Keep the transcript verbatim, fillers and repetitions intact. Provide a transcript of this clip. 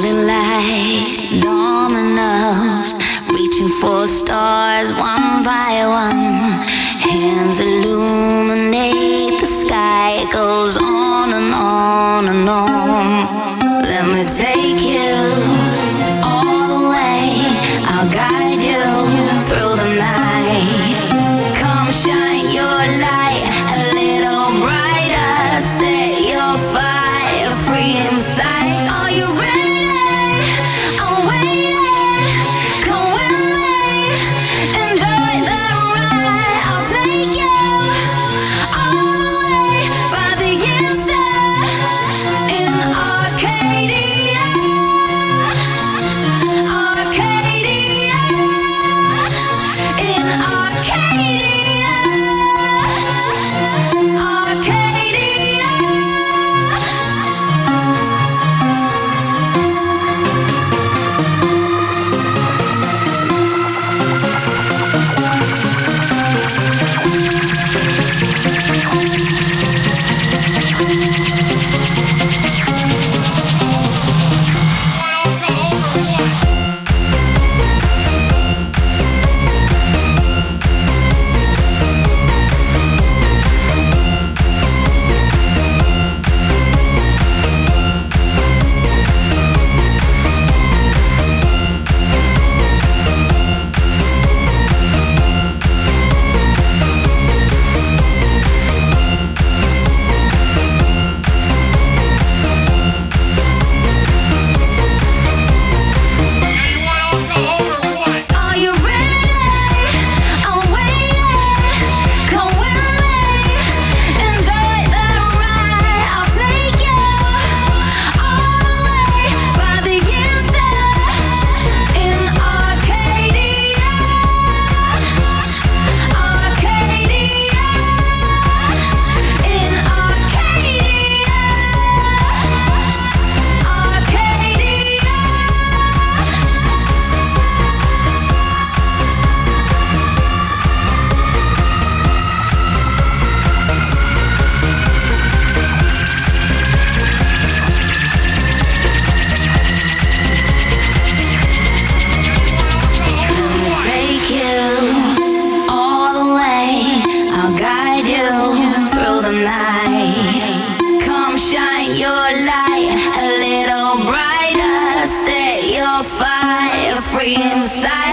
holding light, dominoes, reaching for stars one by one. Hands illuminate the sky, it goes on and on and on. Let me take you all the way, I'll guide you through the night. Come shine your light a little brighter, set your fire free inside. Are you ready? I'm waiting. Come with me, enjoy the ride. I'll take you all the way by the inside in Arcadia, Arcadia, in Arcadia, Arcadia. Are you ready? I'm waiting. Come with me, enjoy the ride. I'll take you all the way by the inside in Arcadia, Arcadia, in Arcadia, Arcadia. Take you all the way, I'll guide you through the night. Come shine your light a little brighter, set your fire free inside.